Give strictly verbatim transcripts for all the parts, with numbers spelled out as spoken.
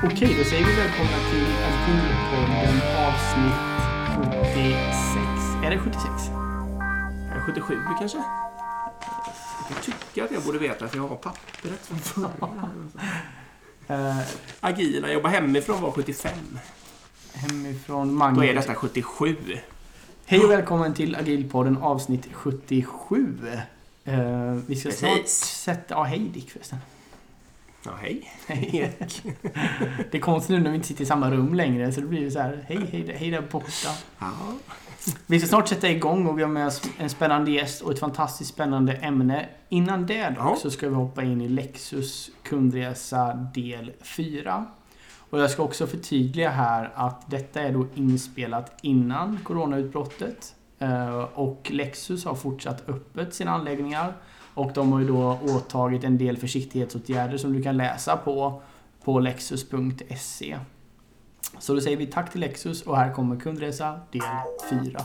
Okej, då säger vi välkomna till Agilpodden avsnitt sjuttiosex. Är det sjuttiosex? Är det sjuttiosju kanske? Jag tycker att jag borde veta att jag har pappret från förra. uh, Agila, jobba hemifrån var sjuttiofem. Hemifrån Magnus. Då är detta sjuttiosju. Hej och välkommen till Agilpodden avsnitt sjuttiosju. Uh, vi ska snart Precis. sätta... Ja, hej Dick förresten. Ja, hej. Hej. Det är konstigt nu när vi inte sitter i samma rum längre, så det blir så här, hej, hej, hej där borta. Ja. Vi ska snart sätta igång och vi har med oss en spännande gäst och ett fantastiskt spännande ämne. Innan det Ja. så ska vi hoppa in i Lexus kundresa del fyra. Och jag ska också förtydliga här att detta är då inspelat innan coronautbrottet. Och Lexus har fortsatt öppet sina anläggningar. Och de har ju då åtagit en del försiktighetsåtgärder som du kan läsa på på lexus punkt se. Så då säger vi tack till Lexus och här kommer kundresa del fyra.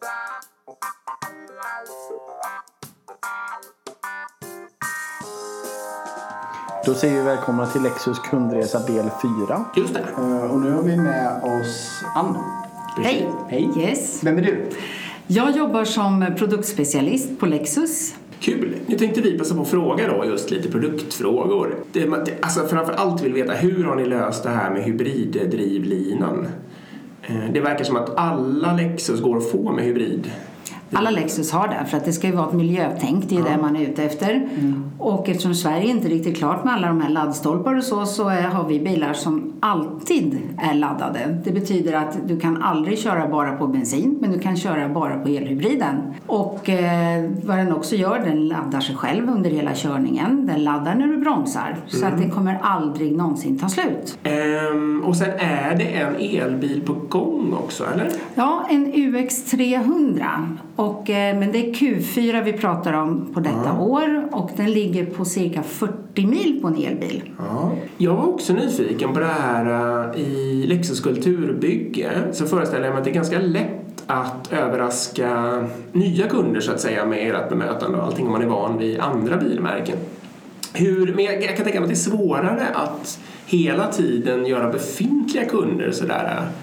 Då säger vi välkomna till Lexus kundresa del fyra. Just det. Och nu har vi med oss Ann. Hej. Hej. Yes. Vem är du? Jag jobbar som produktspecialist på Lexus. Kul. Nu tänkte vi passa på att fråga då just lite produktfrågor. Det, alltså framför allt vill veta, hur har ni löst det här med hybriddrivlinan? Det verkar som att alla Lexus går att få med hybrid. Alla Lexus har det, för att det ska ju vara ett miljötänk, det är ja. det man är ute efter. Mm. Och eftersom Sverige inte är riktigt klart med alla de här laddstolpar och så, så är, har vi bilar som alltid är laddade. Det betyder att du kan aldrig köra bara på bensin, men du kan köra bara på elhybriden. Och eh, vad den också gör, den laddar sig själv under hela körningen. Den laddar när du bromsar, mm. så att det kommer aldrig någonsin ta slut. Ehm, och sen är det en elbil på gång också, eller? Ja, en U X trehundra. Och, eh, men det är Q fyra vi pratar om på detta ja. år. Och den ligger på cirka fyrtio mil på en elbil. Ja. Jag var också nyfiken på det här uh, i Lexus kulturbygge. Så föreställer jag mig att det är ganska lätt att överraska nya kunder så att säga med ert bemötande och allting om man är van vid andra bilmärken. Hur, men jag, jag kan tänka mig att det är svårare att hela tiden göra befintliga kunder sådär uh,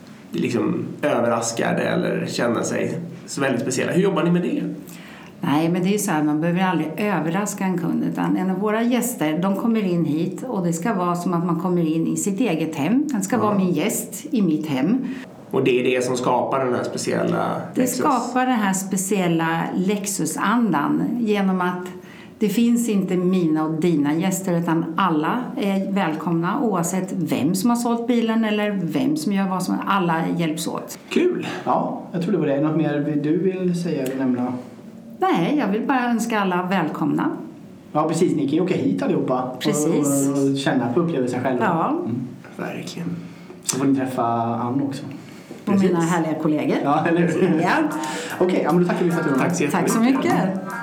liksom överraskade eller känna sig så väldigt speciella. Hur jobbar ni med det? Nej, men det är ju så här, man behöver aldrig överraska en kund, utan en av våra gäster, de kommer in hit och det ska vara som att man kommer in i sitt eget hem. Den ska ja. vara min gäst i mitt hem. Och det är det som skapar den här speciella Det Lexus. skapar den här speciella Lexus-andan genom att det finns inte mina och dina gäster, utan alla är välkomna oavsett vem som har sålt bilen eller vem som gör vad som. Alla hjälps åt. Kul! Ja, jag tror det var det. Något mer du vill säga eller nämna? Nej, jag vill bara önska alla välkomna. Ja, precis. Ni kan ju åka hit allihopa. Precis. Och, och känna på upplevelsen själva. Ja. Mm. Verkligen. Så får ni träffa Ann också. Och precis. Mina härliga kollegor. Ja, eller hur? Ja. Okej, okay, ja, men då tackar vi för att du var med. Tack så Tack så mycket.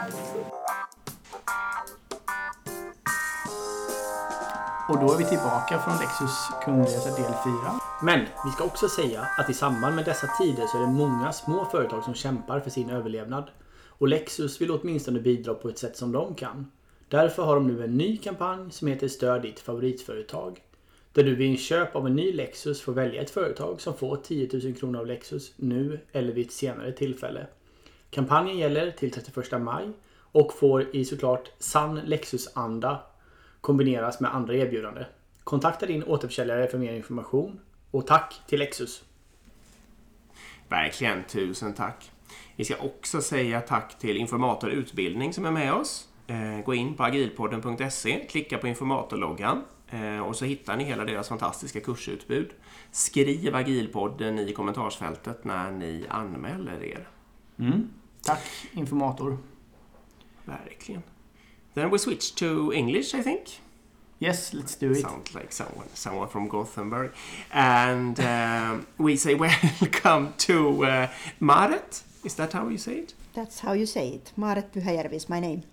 Och då är vi tillbaka från Lexus kundresa del fyra. Men vi ska också säga att i samband med dessa tider så är det många små företag som kämpar för sin överlevnad. Och Lexus vill åtminstone bidra på ett sätt som de kan. Därför har de nu en ny kampanj som heter Stöd ditt favoritföretag. Där du vid en köp av en ny Lexus får välja ett företag som får tio tusen kronor av Lexus nu eller vid ett senare tillfälle. Kampanjen gäller till trettioförsta maj och får i såklart sann Lexus-anda kombineras med andra erbjudanden. Kontakta din återförsäljare för mer information. Och tack till Lexus. Verkligen, tusen tack. Vi ska också säga tack till Informator Utbildning som är med oss. Eh, gå in på agilpodden punkt se, klicka på informatorloggan eh, och så hittar ni hela deras fantastiska kursutbud. Skriv Agilpodden i kommentarsfältet när ni anmäler er. Mm. Tack, Informator. Verkligen. Then we switch to English, I think. Yes, let's do it. Sounds like someone, someone from Gothenburg. And um, we say welcome to uh, Maret. Is that how you say it? That's how you say it. Maret Pyhäjärvi is my name.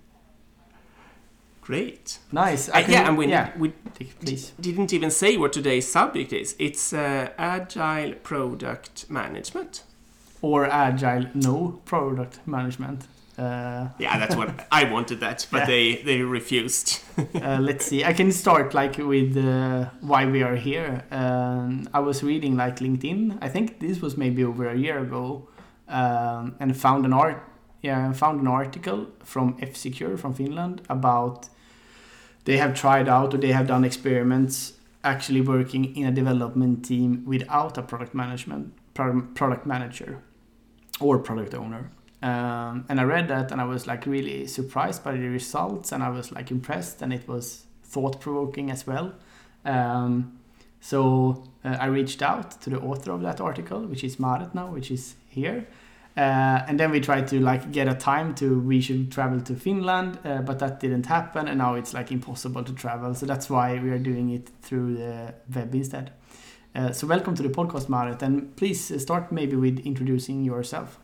Great. Nice. Uh, yeah, and we, yeah. we Please. didn't even say what today's subject is. It's uh, Agile Product Management. Or Agile No Product Management. Uh, yeah, that's what I wanted that, but yeah. they they refused. uh, let's see. I can start like with uh, why we are here. Um, I was reading like LinkedIn. I think this was maybe over a year ago, um, and found an art. Yeah, found an article from F-Secure from Finland about they have tried out or they have done experiments actually working in a development team without a product management pro- product manager or product owner. Um, and I read that and I was like really surprised by the results, and I was like impressed, and it was thought-provoking as well. Um, so uh, I reached out to the author of that article, which is Maret now, which is here. Uh, and then we tried to like get a time to we should travel to Finland, uh, but that didn't happen, and now it's like impossible to travel. So that's why we are doing it through the web instead. Uh, so welcome to the podcast, Maret, and please start maybe with introducing yourself.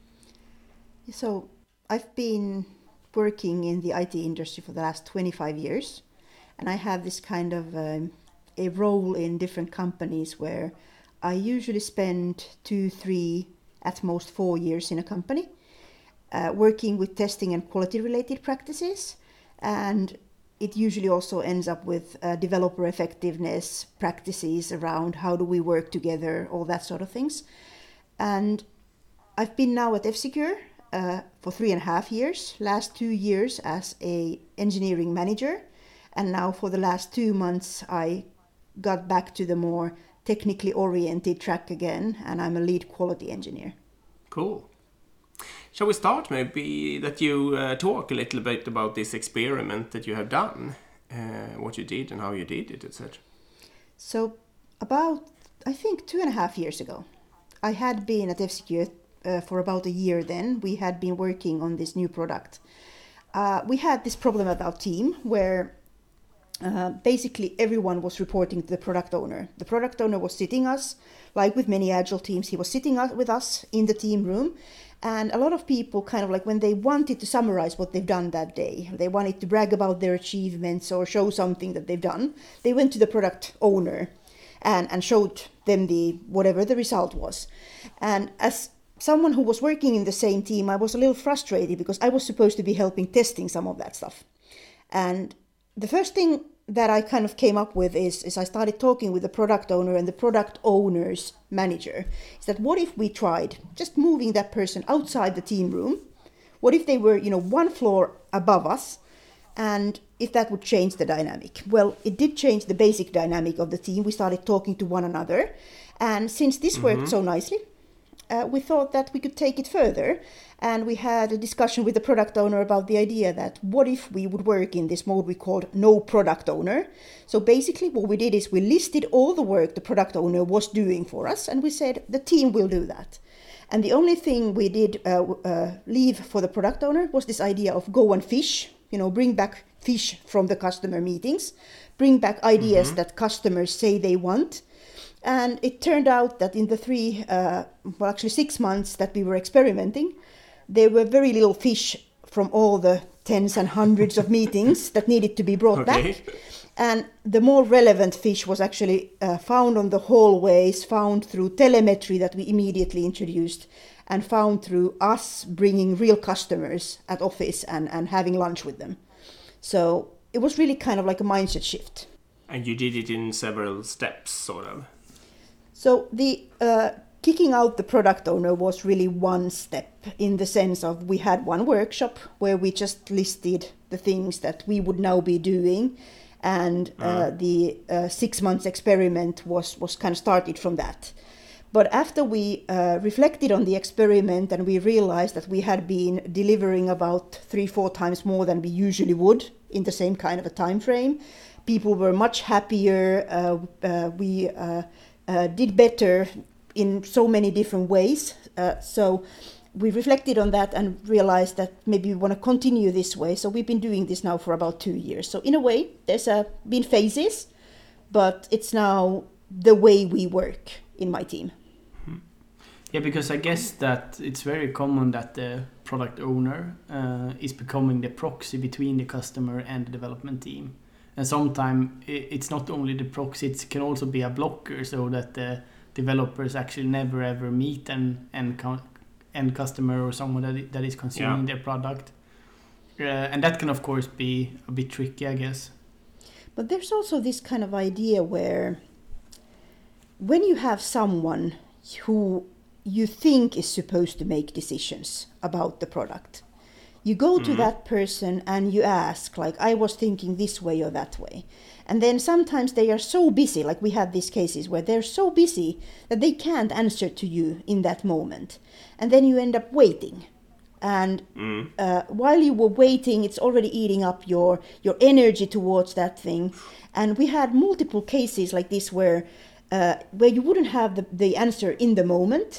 So I've been working in the I T industry for the last twenty-five years, and I have this kind of um, a role in different companies where I usually spend two, three, at most four years in a company, uh, working with testing and quality related practices. And it usually also ends up with uh, developer effectiveness practices around how do we work together, all that sort of things. And I've been now at F-Secure uh, for three and a half years, last two years as a engineering manager. And now for the last two months, I got back to the more technically oriented track again, and I'm a lead quality engineer. Cool. Shall we start maybe that you uh, talk a little bit about this experiment that you have done, uh, what you did and how you did it, et cetera. So about, I think two and a half years ago, I had been at F-Secure uh, for about a year then. We had been working on this new product. Uh, we had this problem at our team where Uh, basically everyone was reporting to the product owner. The product owner was sitting us, like with many agile teams, he was sitting with us in the team room. And a lot of people kind of like when they wanted to summarize what they've done that day, they wanted to brag about their achievements or show something that they've done, they went to the product owner and, and showed them the whatever the result was. And as someone who was working in the same team, I was a little frustrated because I was supposed to be helping testing some of that stuff. And the first thing that I kind of came up with is, is I started talking with the product owner and the product owner's manager. Is that what if we tried just moving that person outside the team room? What if they were, you know, one floor above us? And if that would change the dynamic? Well, it did change the basic dynamic of the team. We started talking to one another. And since this mm-hmm. worked so nicely, uh, we thought that we could take it further. And we had a discussion with the product owner about the idea that what if we would work in this mode we called no product owner. So basically what we did is we listed all the work the product owner was doing for us, and we said the team will do that. And the only thing we did uh, uh, leave for the product owner was this idea of go and fish, you know, bring back fish from the customer meetings, bring back ideas mm-hmm. that customers say they want. And it turned out that in the three, uh, well actually six months that we were experimenting, there were very little fish from all the tens and hundreds of meetings that needed to be brought okay. back. And the more relevant fish was actually uh, found on the hallways, found through telemetry that we immediately introduced, and found through us bringing real customers at office and, and having lunch with them. So it was really kind of like a mindset shift. And you did it in several steps, sort of. So the uh, kicking out the product owner was really one step, in the sense of we had one workshop where we just listed the things that we would now be doing. And uh, uh. the uh, six months experiment was, was kind of started from that. But after we uh, reflected on the experiment and we realized that we had been delivering about three, four times more than we usually would in the same kind of a time frame, people were much happier. Uh, uh, we uh, uh, did better in so many different ways. Uh, so we reflected on that and realized that maybe we want to continue this way. So we've been doing this now for about two years. So in a way, there's uh, been phases, but it's now the way we work in my team. Yeah, because I guess that it's very common that the product owner uh, is becoming the proxy between the customer and the development team. And sometimes it's not only the proxy, it can also be a blocker, so that the developers actually never ever meet and, and end customer or someone that that is consuming yeah. their product. Uh, and that can of course be a bit tricky, I guess. But there's also this kind of idea where when you have someone who you think is supposed to make decisions about the product, you go to mm. that person and you ask, like, I was thinking this way or that way. And then sometimes they are so busy, like we have these cases where they're so busy that they can't answer to you in that moment. And then you end up waiting. And mm. uh, while you were waiting, it's already eating up your, your energy towards that thing. And we had multiple cases like this where uh, where you wouldn't have the, the answer in the moment.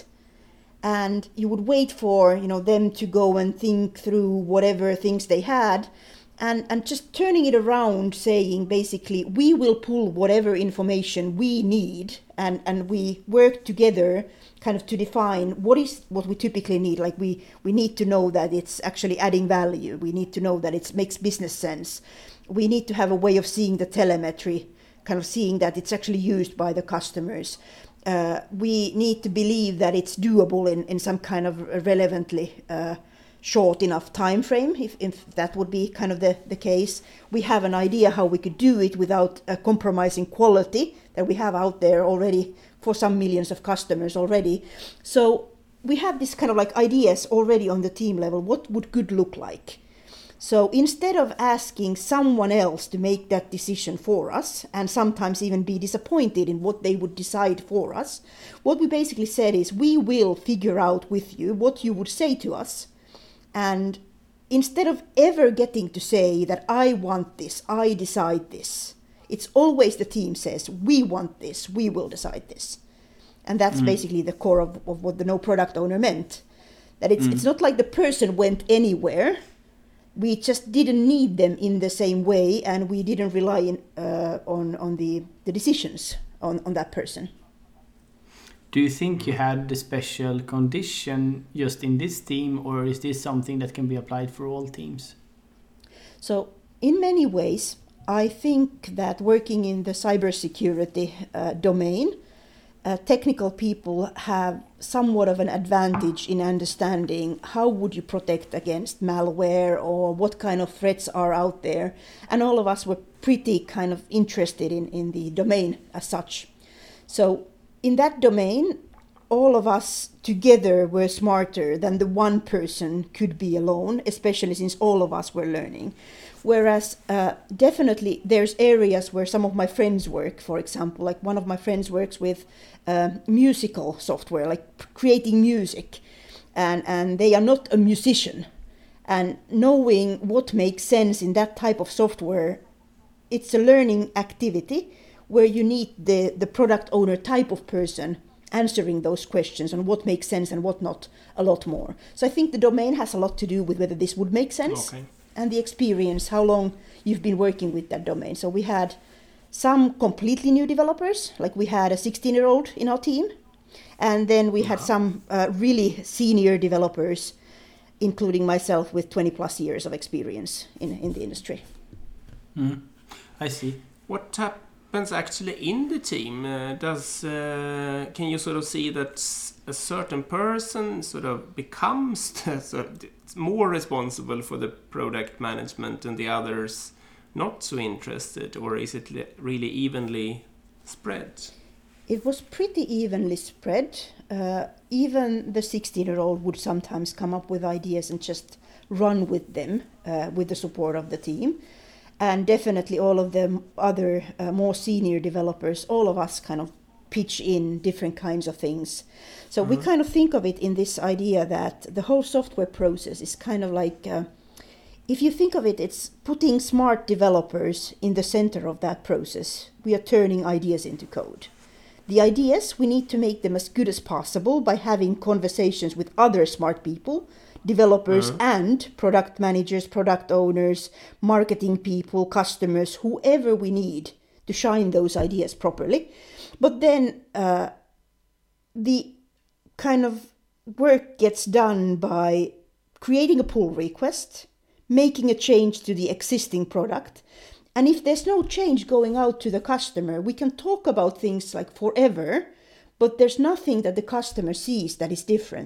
And you would wait for, you know, them to go and think through whatever things they had. And, and just turning it around, saying basically, we will pull whatever information we need and, and we work together kind of to define what is what we typically need. Like we, we need to know that it's actually adding value. We need to know that it makes business sense. We need to have a way of seeing the telemetry, kind of seeing that it's actually used by the customers. Uh, we need to believe that it's doable in, in some kind of relevantly uh, short enough time frame, if, if that would be kind of the, the case. We have an idea how we could do it without uh, compromising quality that we have out there already for some millions of customers already. So we have this kind of like ideas already on the team level. What would good look like? So instead of asking someone else to make that decision for us, and sometimes even be disappointed in what they would decide for us, what we basically said is we will figure out with you what you would say to us. And instead of ever getting to say that I want this, I decide this, it's always the team says, we want this, we will decide this. And that's mm. basically the core of, of what the no product owner meant. That it's mm. it's not like the person went anywhere. We just didn't need them in the same way, and we didn't rely in, uh, on, on the, the decisions on, on that person. Do you think you had the special condition just in this team, or is this something that can be applied for all teams? So in many ways, I think that working in the cybersecurity uh, domain, uh, technical people have somewhat of an advantage in understanding how would you protect against malware or what kind of threats are out there. And all of us were pretty kind of interested in, in the domain as such. So in that domain, all of us together were smarter than the one person could be alone, especially since all of us were learning. Whereas uh, definitely there's areas where some of my friends work, for example, like one of my friends works with uh, musical software, like creating music, and, and they are not a musician. And knowing what makes sense in that type of software, it's a learning activity where you need the, the product owner type of person answering those questions on what makes sense and what not a lot more. So I think the domain has a lot to do with whether this would make sense okay. and the experience, how long you've been working with that domain. So we had some completely new developers, like we had a sixteen-year-old in our team, and then we had some uh, really senior developers, including myself with twenty plus years of experience in, in the industry. Mm. I see. What type happens actually in the team? Uh, does uh, can you sort of see that a certain person sort of becomes the, sort of, more responsible for the product management and the others not so interested, or is it really evenly spread? It was pretty evenly spread. Uh, even the sixteen-year-old would sometimes come up with ideas and just run with them uh, with the support of the team. And definitely all of the other uh, more senior developers, all of us kind of pitch in different kinds of things. So mm-hmm. we kind of think of it in this idea that the whole software process is kind of like, uh, if you think of it, it's putting smart developers in the center of that process. We are turning ideas into code. The ideas, we need to make them as good as possible by having conversations with other smart people, developers mm-hmm. and product managers, product owners, marketing people, customers, whoever we need to shine those ideas properly. But then uh, the kind of work gets done by creating a pull request, making a change to the existing product. And if there's no change going out to the customer, we can talk about things like forever, but there's nothing that the customer sees that is different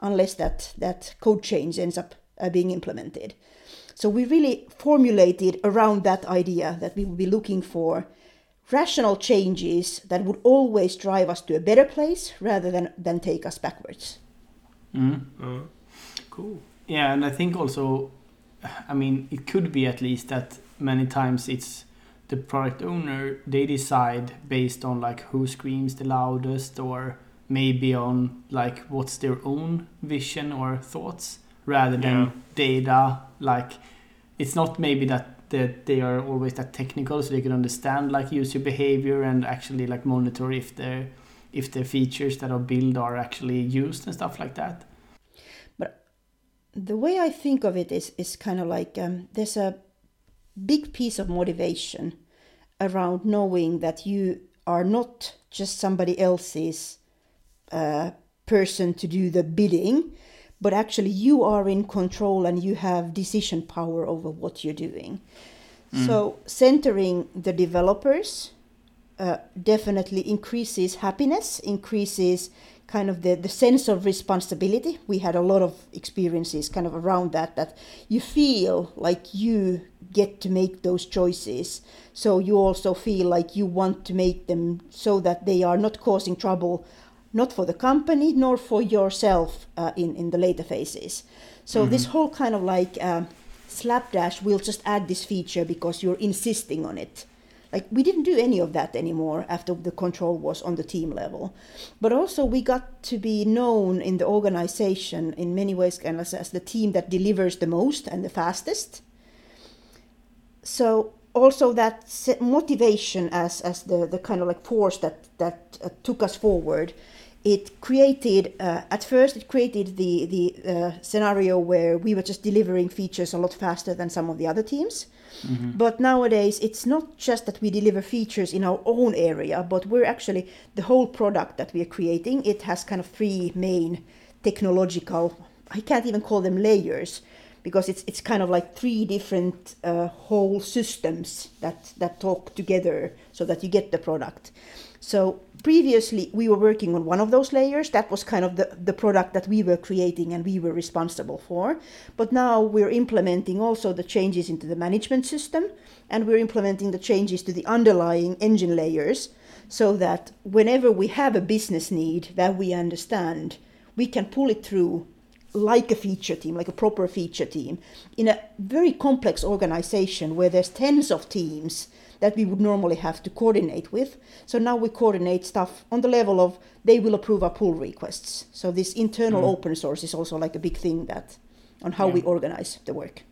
unless that, that code change ends up uh, being implemented. So we really formulated around that idea that we would be looking for rational changes that would always drive us to a better place rather than, than take us backwards. Mm. Mm. Cool. Yeah, and I think also, I mean, it could be at least that many times it's the product owner, they decide based on like who screams the loudest, or maybe on like what's their own vision or thoughts, rather than Yeah. data. Like it's not maybe that that they are always that technical, so they can understand like user behavior and actually like monitor if their if the features that are built are actually used and stuff like that. But the way I think of it is is kind of like um, there's a big piece of motivation around knowing that you are not just somebody else's uh, person to do the bidding, but actually you are in control and you have decision power over what you're doing. Mm. So centering the developers uh, definitely increases happiness, increases kind of the, the sense of responsibility. We had a lot of experiences kind of around that, that you feel like you get to make those choices. So you also feel like you want to make them so that they are not causing trouble, not for the company, nor for yourself uh, in, in the later phases. So mm-hmm. this whole kind of like uh, slapdash, we'll just add this feature because you're insisting on it. Like we didn't do any of that anymore after the control was on the team level. But also we got to be known in the organization in many ways kind of as the team that delivers the most and the fastest. So also that motivation as, as the, the kind of like force that, that uh, took us forward, it created, uh, at first it created the, the uh, scenario where we were just delivering features a lot faster than some of the other teams. Mm-hmm. But nowadays it's not just that we deliver features in our own area, but we're actually, the whole product that we are creating, it has kind of three main technological, I can't even call them layers, because it's it's kind of like three different uh, whole systems that, that talk together so that you get the product. So previously we were working on one of those layers. That was kind of the, the product that we were creating and we were responsible for. But now we're implementing also the changes into the management system, and we're implementing the changes to the underlying engine layers so that whenever we have a business need that we understand, we can pull it through like a feature team, like a proper feature team, in a very complex organization where there's tens of teams that we would normally have to coordinate with. So now we coordinate stuff on the level of they will approve our pull requests. So this internal mm. open source is also like a big thing that on how yeah. we organize the work.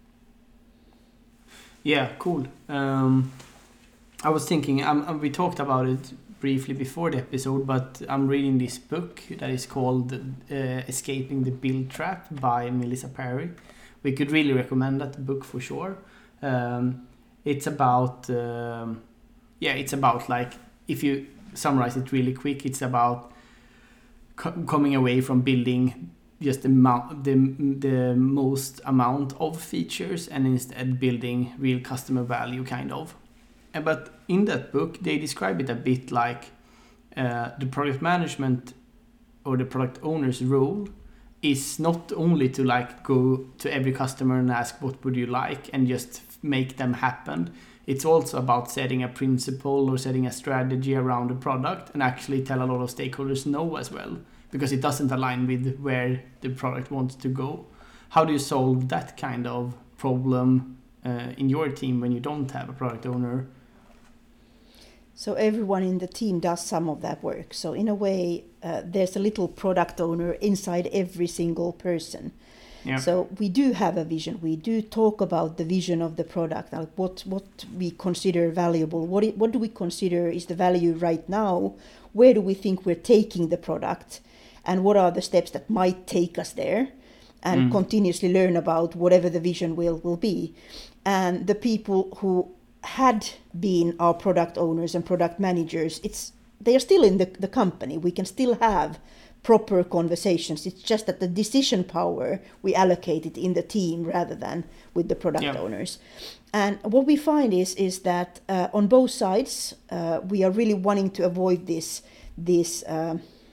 Yeah, cool. Um, I was thinking, um, we talked about it briefly before the episode, but I'm reading this book that is called uh, Escaping the Build Trap by Melissa Perry. We could really recommend that book for sure. Um, it's about, um, yeah, it's about like, if you summarize it really quick, it's about co- coming away from building just the, amount, the, the most amount of features and instead building real customer value kind of. But in that book, they describe it a bit like uh, the product management or the product owner's role is not only to like go to every customer and ask what would you like and just make them happen. It's also about setting a principle or setting a strategy around the product and actually tell a lot of stakeholders no as well, because it doesn't align with where the product wants to go. How do you solve that kind of problem uh, in your team when you don't have a product owner? So everyone in the team does some of that work. So in a way, uh, there's a little product owner inside every single person. Yeah. So we do have a vision. We do talk about the vision of the product, like what what we consider valuable. What it, what do we consider is the value right now? Where do we think we're taking the product? And what are the steps that might take us there? And mm. continuously learn about whatever the vision will, will be. And the people who had been our product owners and product managers, it's they are still in the, the company. We can still have proper conversations. It's just that the decision power we allocate it in the team rather than with the product yeah. owners. And what we find is is that uh, on both sides uh, we are really wanting to avoid this this uh,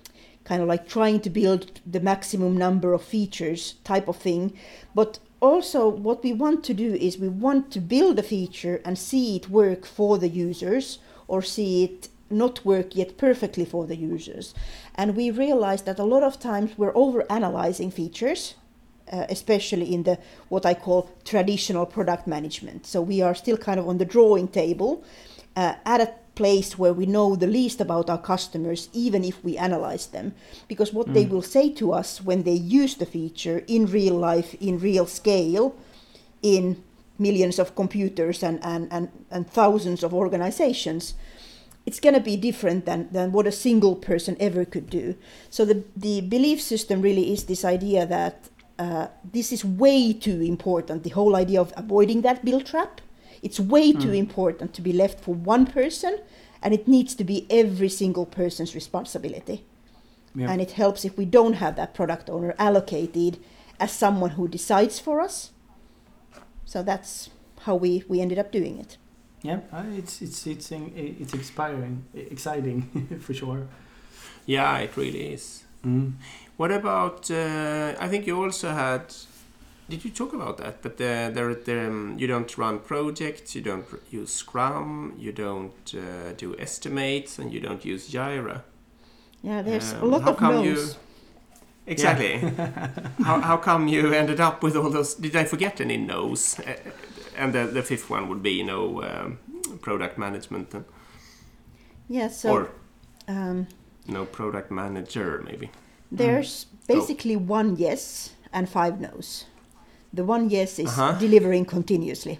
kind of like trying to build the maximum number of features type of thing. But also what we want to do is we want to build a feature and see it work for the users, or see it not work yet perfectly for the users. And we realized that a lot of times we're over-analyzing features, uh, especially in the what I call traditional product management. So we are still kind of on the drawing table uh, at a place where we know the least about our customers, even if we analyze them. Because what mm. they will say to us when they use the feature in real life, in real scale, in millions of computers and, and, and, and thousands of organizations, it's going to be different than, than what a single person ever could do. So the, the belief system really is this idea that uh, this is way too important, the whole idea of avoiding that build trap. It's way mm. too important to be left for one person, and it needs to be every single person's responsibility. Yeah. And it helps if we don't have that product owner allocated as someone who decides for us. So that's how we, we ended up doing it. Yeah, uh, it's it's it's it's inspiring, exciting for sure. Yeah, it really is. Mm. What about? Uh, I think you also had. Did you talk about that? But uh, there, there, um, you don't run projects, you don't use Scrum, you don't uh, do estimates, and you don't use Jira. Yeah, there's um, a lot of no's. You, exactly. Yeah. how how come you ended up with all those? Did I forget any no's? Uh, and the the fifth one would be, you know, um, product management. And, yeah. So. Or um, no product manager, maybe. There's mm. basically oh. one yes and five no's. The one yes is uh-huh. delivering continuously.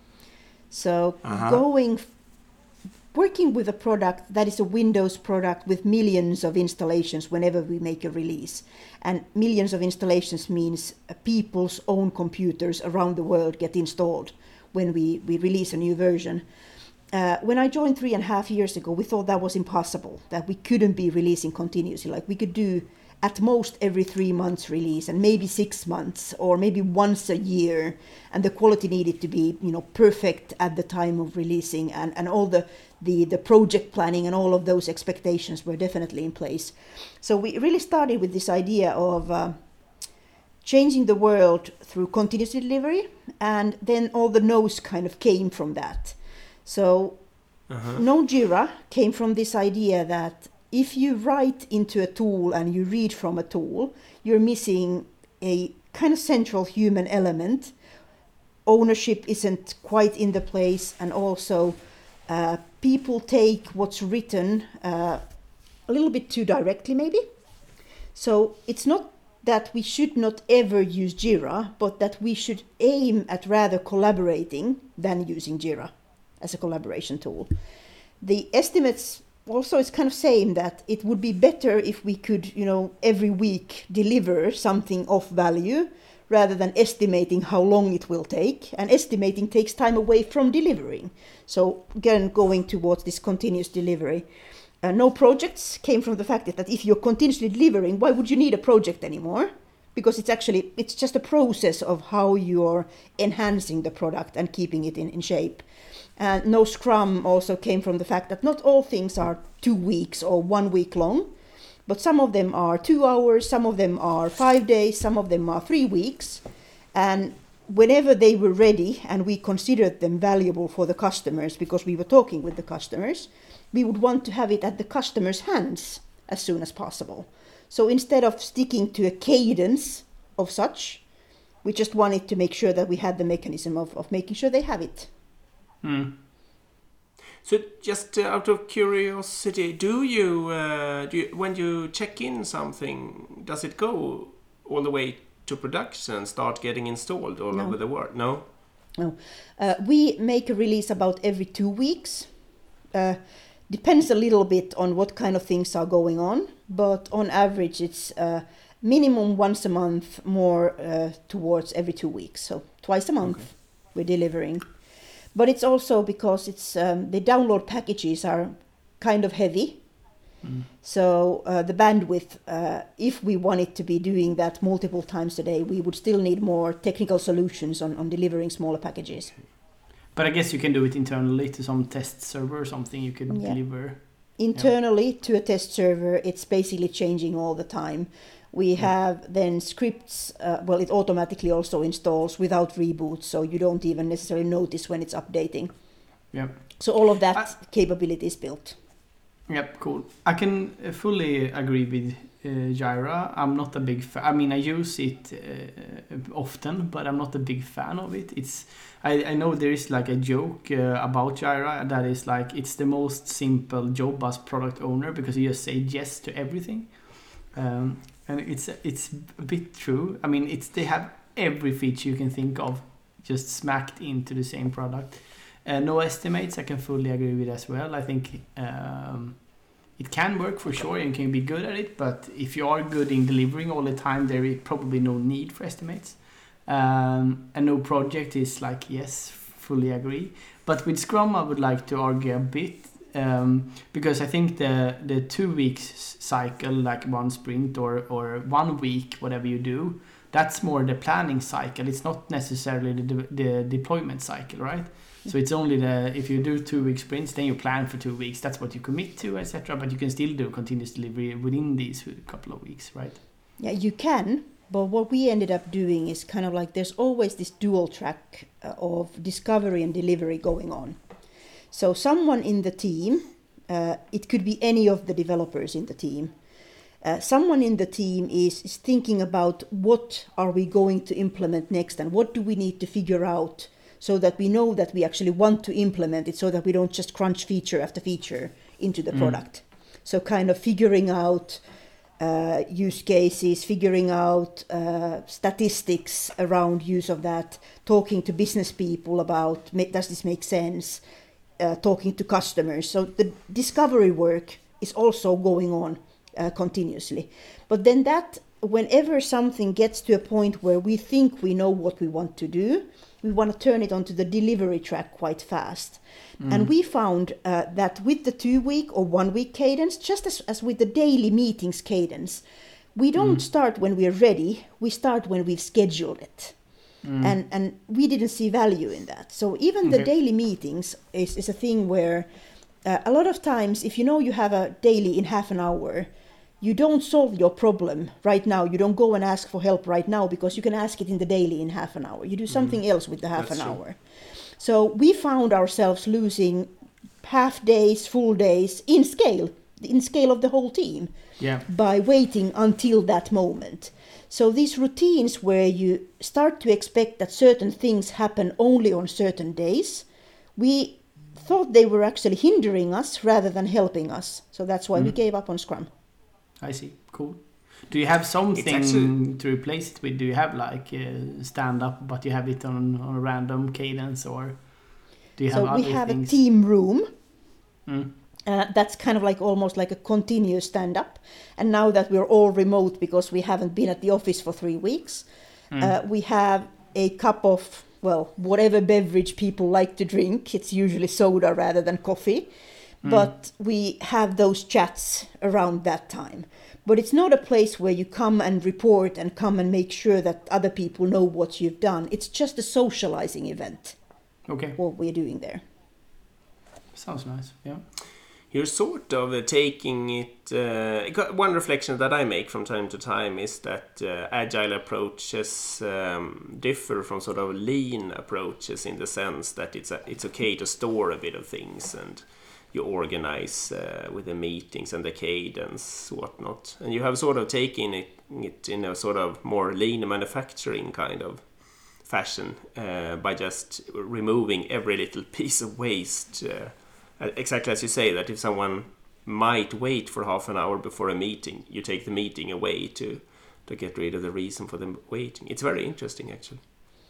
So uh-huh. going, working with a product that is a Windows product with millions of installations whenever we make a release. And millions of installations means uh, people's own computers around the world get installed when we, we release a new version. Uh, when I joined three and a half years ago, we thought that was impossible, that we couldn't be releasing continuously. Like we could do at most every three months release, and maybe six months, or maybe once a year. And the quality needed to be, you know, perfect at the time of releasing, and, and all the, the, the project planning and all of those expectations were definitely in place. So we really started with this idea of uh, changing the world through continuous delivery, and then all the no's kind of came from that. So uh-huh. no Jira came from this idea that if you write into a tool and you read from a tool, you're missing a kind of central human element. Ownership isn't quite in the place, and also uh, people take what's written uh, a little bit too directly, maybe. So it's not that we should not ever use Jira, but that we should aim at rather collaborating than using Jira as a collaboration tool. The estimates also, it's kind of saying that it would be better if we could, you know, every week deliver something of value rather than estimating how long it will take. And estimating takes time away from delivering. So again, going towards this continuous delivery. Uh, no projects came from the fact that if you're continuously delivering, why would you need a project anymore? Because it's actually, it's just a process of how you're enhancing the product and keeping it in, in shape. And no Scrum also came from the fact that not all things are two weeks or one week long, but some of them are two hours, some of them are five days, some of them are three weeks. And whenever they were ready and we considered them valuable for the customers, because we were talking with the customers, we would want to have it at the customer's hands as soon as possible. So instead of sticking to a cadence of such, we just wanted to make sure that we had the mechanism of, of making sure they have it. Mm. So, just uh, out of curiosity, do you, uh, do you, when you check in something, does it go all the way to production and start getting installed all no. over the world? No? No. Uh, we make a release about every two weeks. Uh, depends a little bit on what kind of things are going on, but on average it's uh, minimum once a month, more uh, towards every two weeks. So, twice a month okay. we're delivering. But it's also because it's um, the download packages are kind of heavy. Mm. So uh, the bandwidth, uh, if we wanted to be doing that multiple times a day, we would still need more technical solutions on, on delivering smaller packages. But I guess you can do it internally to some test server or something. You could yeah. deliver internally yeah. to a test server. It's basically changing all the time. We yeah. have then scripts, uh, well, it automatically also installs without reboot, so you don't even necessarily notice when it's updating. Yeah. So all of that I, capability is built. Yep, cool. I can fully agree with uh, Jira. I'm not a big fan. I mean, I use it uh, often, but I'm not a big fan of it. It's I, I know there is like a joke uh, about Jira that is like it's the most simple job as product owner because you just say yes to everything. Um, and it's it's a bit true. I mean, it's they have every feature you can think of just smacked into the same product. Uh, no estimates, I can fully agree with as well. I think um, it can work for sure and can be good at it, but if you are good in delivering all the time, there is probably no need for estimates. Um, and no project is like, yes, fully agree. But with Scrum, I would like to argue a bit um, because I think the, the two weeks cycle, like one sprint or, or one week, whatever you do, that's more the planning cycle. It's not necessarily the, de- the deployment cycle, right? So it's only the if you do two week sprints, then you plan for two weeks. That's what you commit to, et cetera. But you can still do continuous delivery within these couple of weeks, right? Yeah, you can. But what we ended up doing is kind of like there's always this dual track uh, of discovery and delivery going on. So someone in the team, uh, it could be any of the developers in the team. Uh, someone in the team is, is thinking about what are we going to implement next and what do we need to figure out so that we know that we actually want to implement it so that we don't just crunch feature after feature into the mm. product. So kind of figuring out uh, use cases, figuring out uh, statistics around use of that, talking to business people about does this make sense, uh, talking to customers. So the discovery work is also going on uh, continuously. But then that, whenever something gets to a point where we think we know what we want to do, we want to turn it onto the delivery track quite fast. Mm. And we found uh, that with the two-week or one-week cadence, just as, as with the daily meetings cadence, we don't mm. start when we're ready, we start when we've scheduled it. Mm. And and we didn't see value in that. So even okay. the daily meetings is, is a thing where uh, a lot of times, if you know you have a daily in half an hour, you don't solve your problem right now. You don't go and ask for help right now because you can ask it in the daily in half an hour. You do something mm. else with the half That's an true. hour. So we found ourselves losing half days, full days in scale, in scale of the whole team yeah. by waiting until that moment. So these routines where you start to expect that certain things happen only on certain days, we thought they were actually hindering us rather than helping us. So that's why mm. we gave up on Scrum. I see. Cool. Do you have something actually to replace it with? Do you have like uh, stand up, but you have it on, on a random cadence, or do you have so other we have things? a team room. Mm. Uh, that's kind of like almost like a continuous stand up. And now that we're all remote because we haven't been at the office for three weeks, mm. uh, we have a cup of, well, whatever beverage people like to drink. It's usually soda rather than coffee. Mm. But we have those chats around that time. But it's not a place where you come and report and come and make sure that other people know what you've done. It's just a socializing event. Okay. What we're doing there. Sounds nice, yeah. You're sort of uh, taking it... Uh, one reflection that I make from time to time is that uh, agile approaches um, differ from sort of lean approaches in the sense that it's a, it's okay to store a bit of things and you organize uh, with the meetings and the cadence, whatnot. And you have sort of taken it, it in a sort of more lean manufacturing kind of fashion uh, by just removing every little piece of waste. Uh, exactly as you say, that if someone might wait for half an hour before a meeting, you take the meeting away to, to get rid of the reason for them waiting. It's very interesting, actually.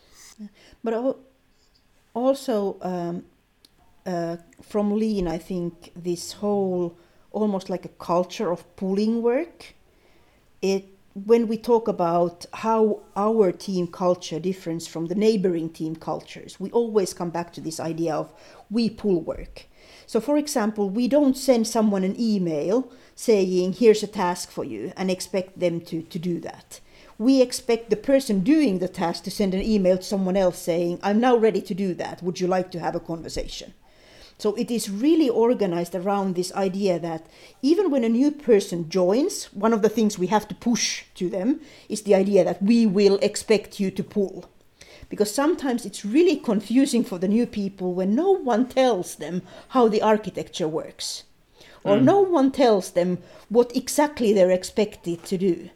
But also... Um, Uh, from Lean, I think this whole almost like a culture of pulling work. It when we talk about how our team culture differs from the neighboring team cultures, we always come back to this idea of we pull work. So, for example, we don't send someone an email saying here's a task for you and expect them to, to do that. We expect the person doing the task to send an email to someone else saying I'm now ready to do that. Would you like to have a conversation? So it is really organized around this idea that even when a new person joins, one of the things we have to push to them is the idea that we will expect you to pull. Because sometimes it's really confusing for the new people when no one tells them how the architecture works. Or mm. no one tells them what exactly they're expected to do.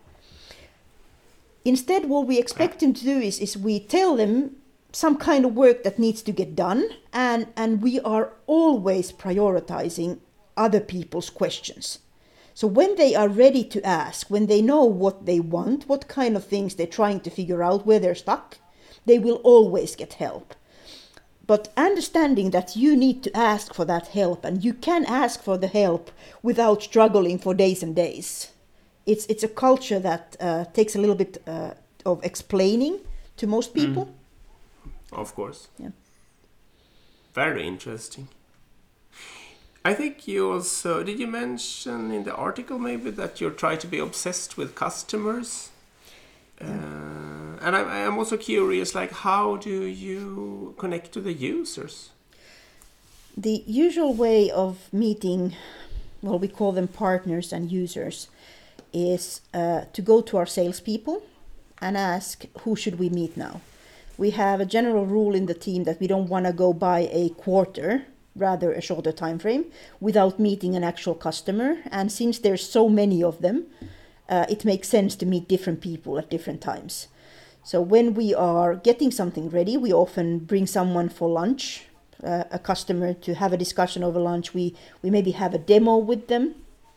Instead, what we expect them to do is, is we tell them some kind of work that needs to get done, and, and we are always prioritizing other people's questions. So when they are ready to ask, when they know what they want, what kind of things they're trying to figure out, where they're stuck, they will always get help. But understanding that you need to ask for that help, and you can ask for the help without struggling for days and days. It's it's a culture that uh, takes a little bit uh, of explaining to most people. Mm. Of course. Yeah. Very interesting. I think you also, did you mention in the article maybe that you try to be obsessed with customers? Yeah. Uh, and I, I'm also curious, like, how do you connect to the users? The usual way of meeting, well, we call them partners and users, is uh, to go to our salespeople and ask, who should we meet now? We have a general rule in the team that we don't want to go by a quarter, rather a shorter time frame, without meeting an actual customer. And since there's so many of them, uh, it makes sense to meet different people at different times. So when we are getting something ready, we often bring someone for lunch, uh, a customer, to have a discussion over lunch. We, we maybe have a demo with them.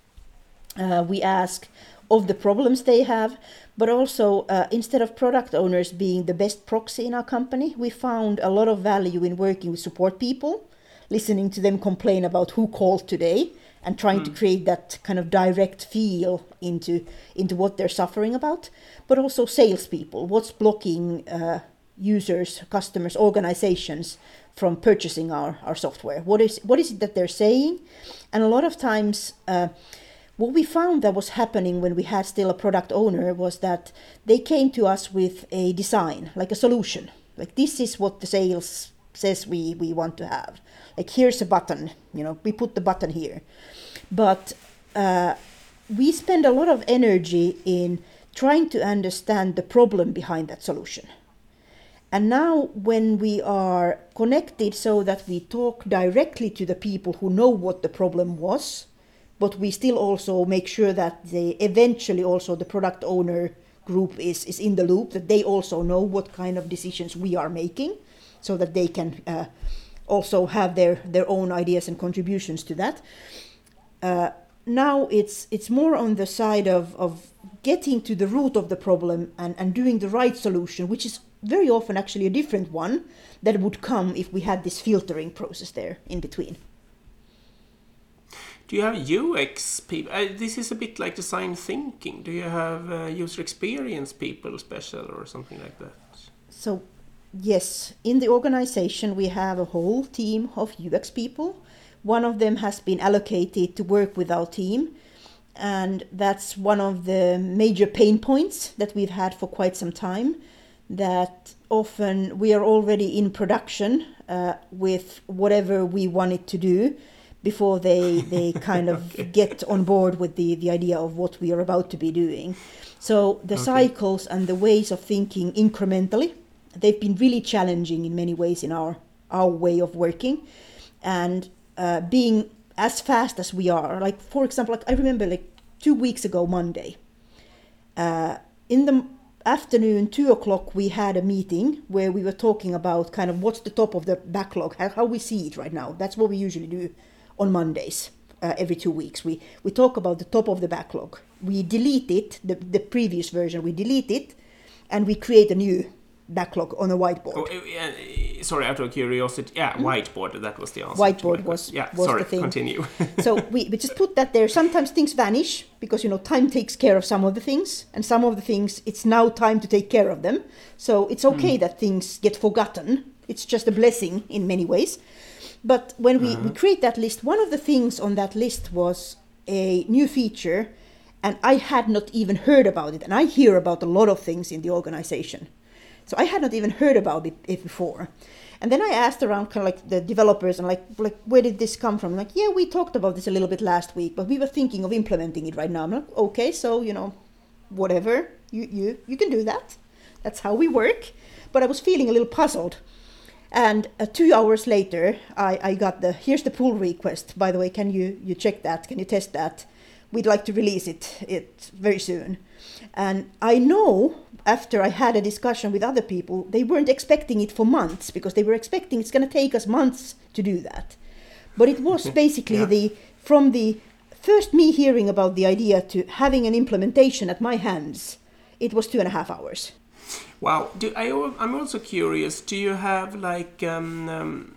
Uh, we ask of the problems they have, but also uh, instead of product owners being the best proxy in our company, we found a lot of value in working with support people, listening to them complain about who called today, and trying mm. to create that kind of direct feel into into what they're suffering about. But also salespeople, what's blocking uh, users, customers, organizations from purchasing our, our software? What is what is it that they're saying? And a lot of times, uh, what we found that was happening when we had still a product owner was that they came to us with a design, like a solution. Like, this is what the sales says we, we want to have. Like, here's a button, you know, we put the button here. But uh, we spend a lot of energy in trying to understand the problem behind that solution. And now when we are connected so that we talk directly to the people who know what the problem was, but we still also make sure that they eventually also the product owner group is, is in the loop, that they also know what kind of decisions we are making, so that they can uh, also have their, their own ideas and contributions to that. Uh, now it's it's more on the side of, of getting to the root of the problem and, and doing the right solution, which is very often actually a different one that would come if we had this filtering process there in between. Do you have U X people? Uh, this is a bit like design thinking. Do you have uh, user experience people special or something like that? So, yes, in the organization we have a whole team of U X people. One of them has been allocated to work with our team. And that's one of the major pain points that we've had for quite some time. That often we are already in production uh, with whatever we wanted to do before they, they kind of okay. get on board with the, the idea of what we are about to be doing. So the okay. cycles and the ways of thinking incrementally, they've been really challenging in many ways in our, our way of working. And uh, being as fast as we are, like, for example, like I remember like two weeks ago, Monday, uh, in the afternoon, two o'clock, we had a meeting where we were talking about kind of what's the top of the backlog, how, how we see it right now. That's what we usually do on Mondays, uh, every two weeks. We we talk about the top of the backlog. We delete it, the, the previous version, we delete it, and we create a new backlog on a whiteboard. Oh, uh, sorry, out of curiosity, yeah, mm. whiteboard, that was the answer. Whiteboard was, yeah, was sorry, the thing. Continue. So we, we just put that there. Sometimes things vanish because, you know, time takes care of some of the things, and some of the things, it's now time to take care of them. So it's okay mm. that things get forgotten. It's just a blessing in many ways. But when we, uh-huh. we create that list, one of the things on that list was a new feature, and I had not even heard about it. And I hear about a lot of things in the organization. So I had not even heard about it, it before. And then I asked around kind of like the developers and like, like where did this come from? Like, yeah, we talked about this a little bit last week, but we were thinking of implementing it right now. I'm like, okay, so, you know, whatever, you, you, you can do that. That's how we work. But I was feeling a little puzzled. And uh, two hours later, I, I got the, here's the pull request. By the way, can you, you check that? Can you test that? We'd like to release it, it very soon. And I know after I had a discussion with other people, they weren't expecting it for months because they were expecting it's going to take us months to do that. But it was basically yeah. the, from the first me hearing about the idea to having an implementation at my hands, it was two and a half hours. Wow. Do I, I'm also curious, do you have like um, um,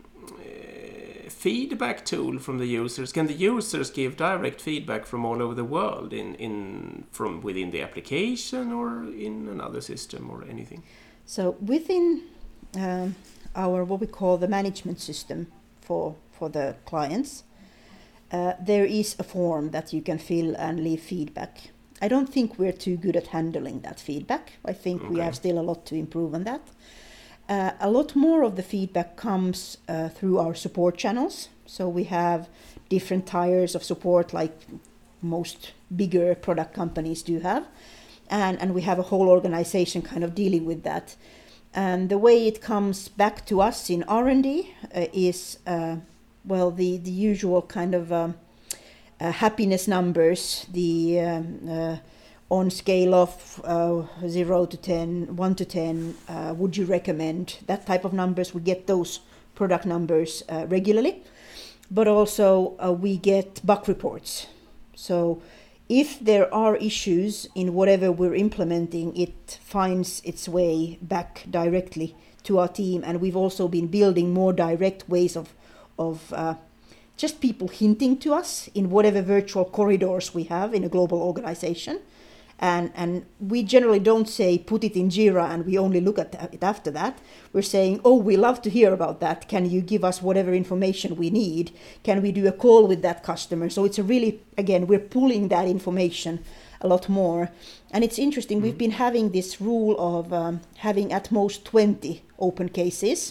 feedback tool from the users? Can the users give direct feedback from all over the world in, in from within the application or in another system or anything? So within um, our what we call the management system for for the clients, uh, there is a form that you can fill and leave feedback. I don't think we're too good at handling that feedback. I think okay. we have still a lot to improve on that. Uh, a lot more of the feedback comes uh, through our support channels. So we have different tiers of support like most bigger product companies do have. And, and we have a whole organization kind of dealing with that. And the way it comes back to us in R and D uh, is, uh, well, the, the usual kind of um, uh, happiness numbers, the um, uh, on scale of uh, zero to ten, one to ten, uh, would you recommend? That type of numbers, we get those product numbers uh, regularly. But also uh, we get bug reports. So if there are issues in whatever we're implementing, it finds its way back directly to our team. And we've also been building more direct ways of, of uh, just people hinting to us in whatever virtual corridors we have in a global organization. And and we generally don't say put it in Jira and we only look at it after that. We're saying, oh, we love to hear about that. Can you give us whatever information we need? Can we do a call with that customer? So it's a really, again, we're pulling that information a lot more. And it's interesting, mm-hmm. we've been having this rule of um, having at most twenty open cases,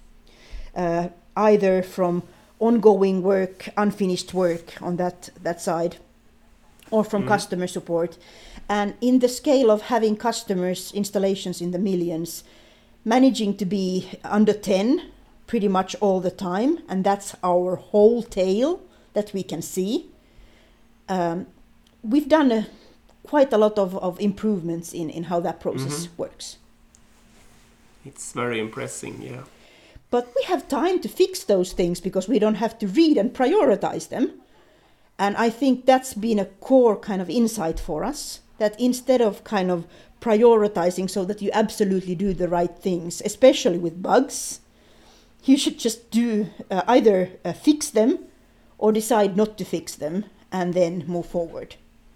uh, either from ongoing work, unfinished work on that, that side, or from mm-hmm. customer support. And in the scale of having customers, installations in the millions, managing to be under ten pretty much all the time, and that's our whole tail that we can see. Um, we've done a, quite a lot of, of improvements in, in how that process mm-hmm. works. It's very impressive, yeah. But we have time to fix those things because we don't have to read and prioritize them. And I think that's been a core kind of insight for us, that instead of kind of prioritizing so that you absolutely do the right things, especially with bugs, you should just do uh, either uh, fix them or decide not to fix them and then move forward.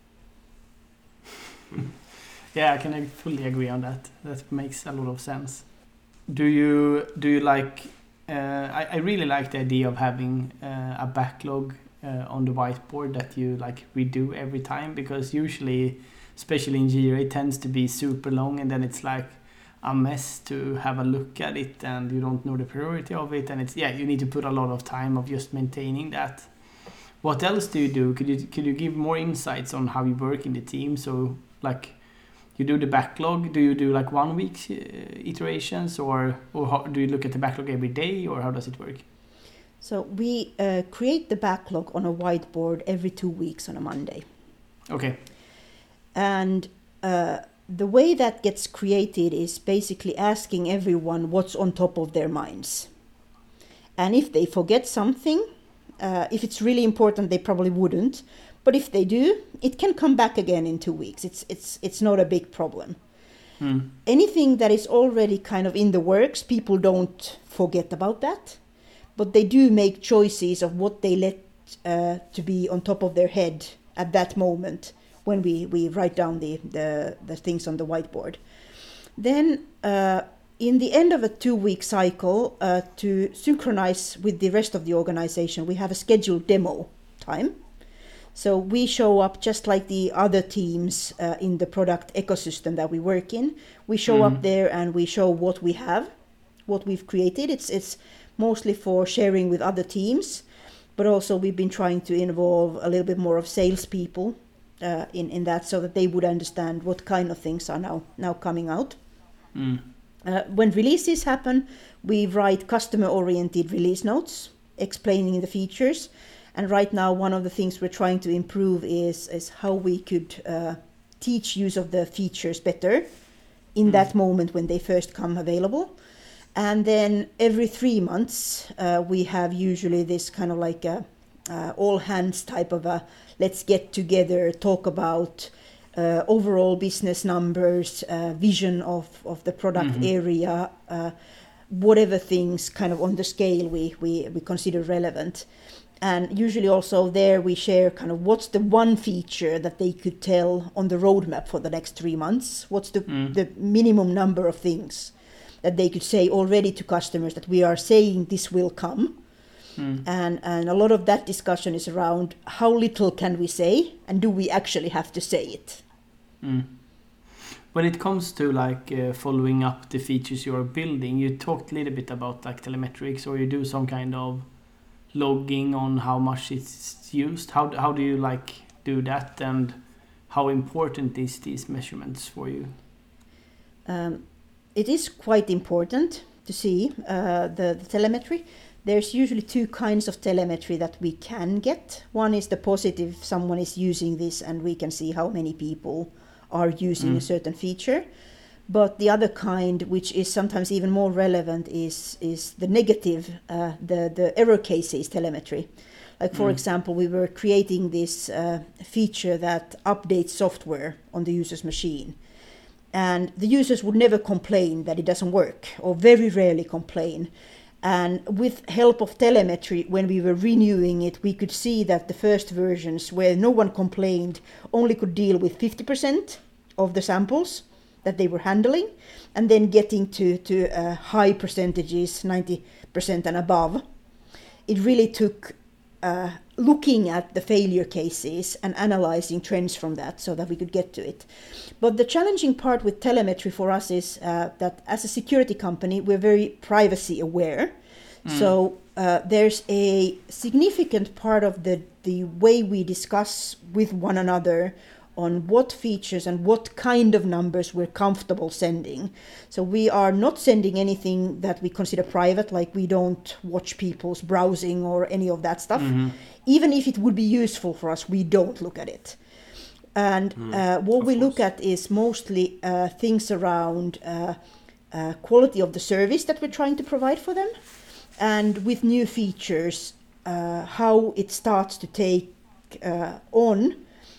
Yeah, I can fully agree on that. That makes a lot of sense. Do you do you like? Uh, I, I really like the idea of having uh, a backlog uh, on the whiteboard that you like redo every time, because usually, especially in Jira, it tends to be super long and then it's like a mess to have a look at it and you don't know the priority of it, and it's yeah you need to put a lot of time of just maintaining that. What else do you do? Could you could you give more insights on how you work in the team? So like you do the backlog, do you do like one week uh, iterations, or or how, do you look at the backlog every day, or how does it work? So we uh, create the backlog on a whiteboard every two weeks on a Monday. Okay. And uh, the way that gets created is basically asking everyone what's on top of their minds. And if they forget something, uh, if it's really important, they probably wouldn't. But if they do, it can come back again in two weeks. It's it's it's not a big problem. Hmm. Anything that is already kind of in the works, people don't forget about that. But they do make choices of what they let uh, to be on top of their head at that moment when we, we write down the, the, the things on the whiteboard. Then uh, in the end of a two-week cycle, uh, to synchronize with the rest of the organization, we have a scheduled demo time. So we show up just like the other teams uh, in the product ecosystem that we work in. We show mm-hmm. up there and we show what we have what we've created. It's it's mostly for sharing with other teams, but also we've been trying to involve a little bit more of salespeople uh, in in that, so that they would understand what kind of things are now now coming out. Mm. Uh, when releases happen, we write customer-oriented release notes explaining the features. And right now, one of the things we're trying to improve is is how we could uh, teach use of the features better in mm. that moment when they first come available. And then every three months, uh, we have usually this kind of like a uh, all hands type of a let's get together, talk about uh, overall business numbers, uh, vision of, of the product mm-hmm. area, uh, whatever things kind of on the scale we, we, we consider relevant. And usually also there we share kind of what's the one feature that they could tell on the roadmap for the next three months. What's the, mm. the minimum number of things that they could say already to customers that we are saying this will come. Mm. And, and a lot of that discussion is around how little can we say and do we actually have to say it. Mm. When it comes to like uh, following up the features you are building, you talked a little bit about like telemetrics, or you do some kind of logging on how much it's used. How how do you like do that, and how important is these measurements for you? Um, it is quite important to see uh, the, the telemetry. There's usually two kinds of telemetry that we can get. One is the positive, someone is using this and we can see how many people are using mm. a certain feature. But the other kind, which is sometimes even more relevant, is is the negative, uh, the, the error cases telemetry. Like, for mm. example, we were creating this uh, feature that updates software on the user's machine. And the users would never complain that it doesn't work, or very rarely complain. And with help of telemetry, when we were renewing it, we could see that the first versions, where no one complained, only could deal with fifty percent of the samples that they were handling, and then getting to, to uh, high percentages, ninety percent and above. It really took uh, looking at the failure cases and analyzing trends from that so that we could get to it. But the challenging part with telemetry for us is uh, that as a security company, we're very privacy aware. Mm. So uh, there's a significant part of the, the way we discuss with one another on what features and what kind of numbers we're comfortable sending. So we are not sending anything that we consider private, like we don't watch people's browsing or any of that stuff. Mm-hmm. Even if it would be useful for us, we don't look at it. And mm, uh, what we course. look at is mostly uh, things around uh, uh, quality of the service that we're trying to provide for them. And with new features, uh, how it starts to take uh, on.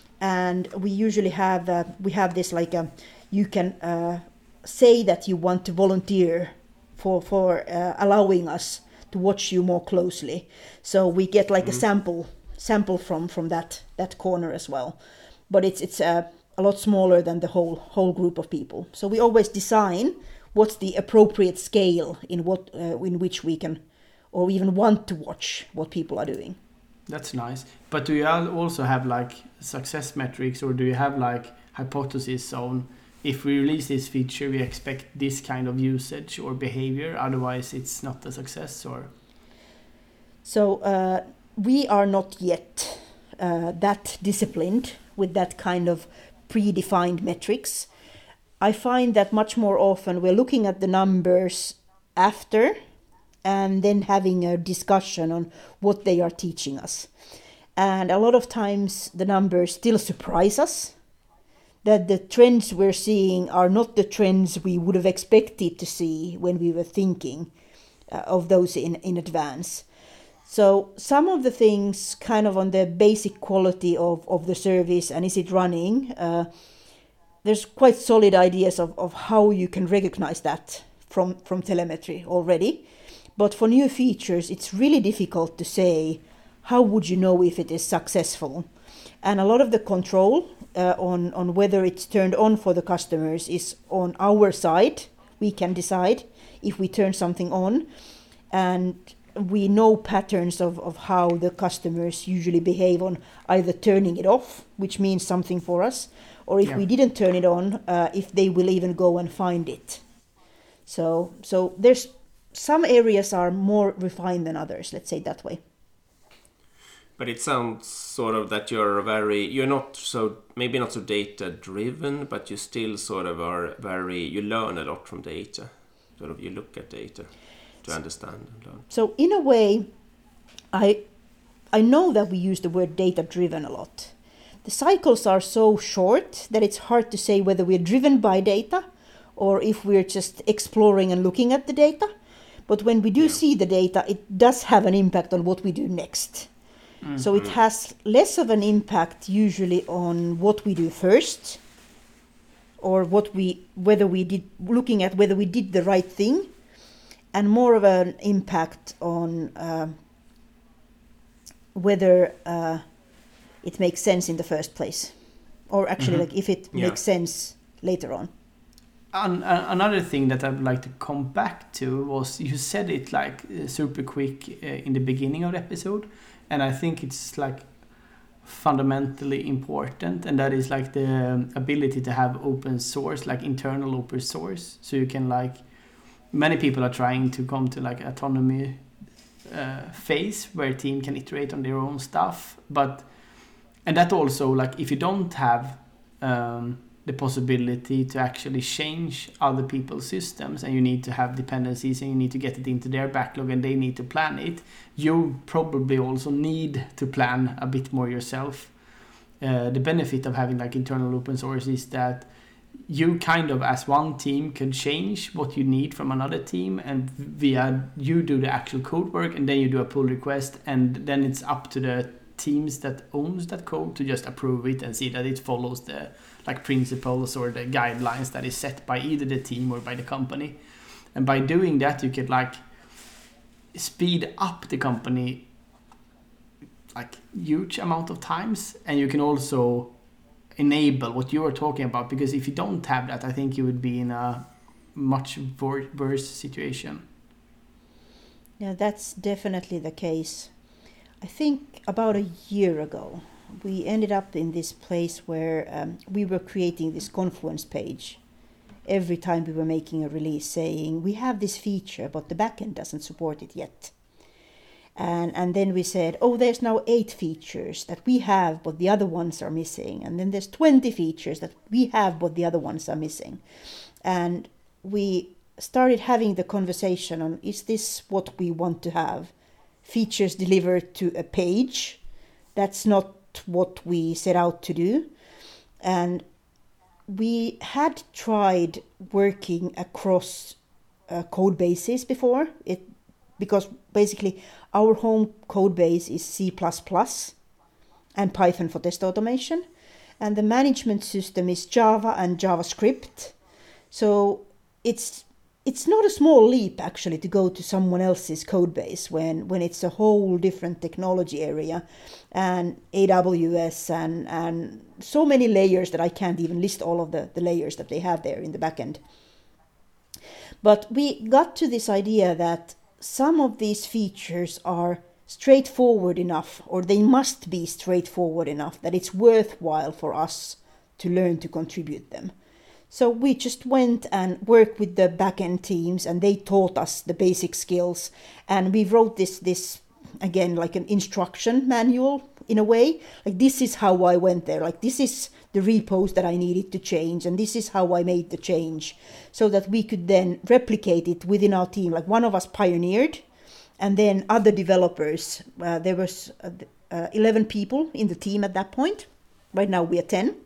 And we usually have uh, we have this like a, you can uh, say that you want to volunteer for for uh, allowing us to watch you more closely. So we get like mm-hmm. a sample sample from from that that corner as well, but it's it's uh, a lot smaller than the whole whole group of people. So we always design what's the appropriate scale in what uh, in which we can or even want to watch what people are doing. That's nice. But do you also have like success metrics, or do you have like hypothesis on if we release this feature, we expect this kind of usage or behavior, otherwise it's not a success? Or so uh, we are not yet uh, that disciplined with that kind of predefined metrics. I find that much more often we're looking at the numbers after and then having a discussion on what they are teaching us. And a lot of times the numbers still surprise us, that the trends we're seeing are not the trends we would have expected to see when we were thinking uh, of those in, in advance. So some of the things kind of on the basic quality of, of the service and is it running, uh, there's quite solid ideas of, of how you can recognize that from, from telemetry already. But for new features, it's really difficult to say, how would you know if it is successful? And a lot of the control uh, on, on whether it's turned on for the customers is on our side. We can decide if we turn something on. And we know patterns of, of how the customers usually behave on either turning it off, which means something for us, or if yeah. we didn't turn it on, uh, if they will even go and find it. So, so there's some areas are more refined than others, let's say it that way. But it sounds sort of that you're very, you're not so, maybe not so data driven, but you still sort of are very, you learn a lot from data. Sort of you look at data to understand and learn. So in a way, I I know that we use the word data driven a lot. The cycles are so short that it's hard to say whether we're driven by data or if we're just exploring and looking at the data. But when we do yeah. see the data, it does have an impact on what we do next. Mm-hmm. So it has less of an impact usually on what we do first, or what we whether we did looking at whether we did the right thing, and more of an impact on uh, whether uh, it makes sense in the first place, or actually mm-hmm. like if it yeah. makes sense later on. An- another thing that I would like to come back to was you said it like uh, super quick uh, in the beginning of the episode, and I think it's like fundamentally important, and that is like the ability to have open source, like internal open source, so you can like many people are trying to come to like autonomy uh, phase where a team can iterate on their own stuff, but and that also like if you don't have um, the possibility to actually change other people's systems, and you need to have dependencies and you need to get it into their backlog and they need to plan it, you probably also need to plan a bit more yourself. Uh, the benefit of having like internal open source is that you kind of as one team can change what you need from another team, and via you do the actual code work and then you do a pull request, and then it's up to the teams that owns that code to just approve it and see that it follows the like principles or the guidelines that is set by either the team or by the company. And by doing that you could like speed up the company like huge amount of times, and you can also enable what you are talking about, because if you don't have that, I think you would be in a much worse situation. Yeah, that's definitely the case. I think about a year ago, we ended up in this place where um, we were creating this Confluence page every time we were making a release, saying we have this feature, but the backend doesn't support it yet. And and then we said, oh, there's now eight features that we have, but the other ones are missing. And then there's twenty features that we have, but the other ones are missing. And we started having the conversation on, is this what we want to have? Features delivered to a page? That's not what we set out to do. And we had tried working across uh, code bases before, it because basically our home code base is C plus plus and Python for test automation, and the management system is Java and JavaScript. So it's it's not a small leap actually to go to someone else's code base when, when it's a whole different technology area and A W S and, and so many layers that I can't even list all of the, the layers that they have there in the backend. But we got to this idea that some of these features are straightforward enough, or they must be straightforward enough that it's worthwhile for us to learn to contribute them. So we just went and worked with the backend teams, and they taught us the basic skills. And we wrote this, this again, like an instruction manual in a way. Like, this is how I went there. Like, this is the repos that I needed to change, and this is how I made the change, so that we could then replicate it within our team. Like, one of us pioneered, and then other developers. Uh, there was uh, uh, eleven people in the team at that point. Right now we are ten.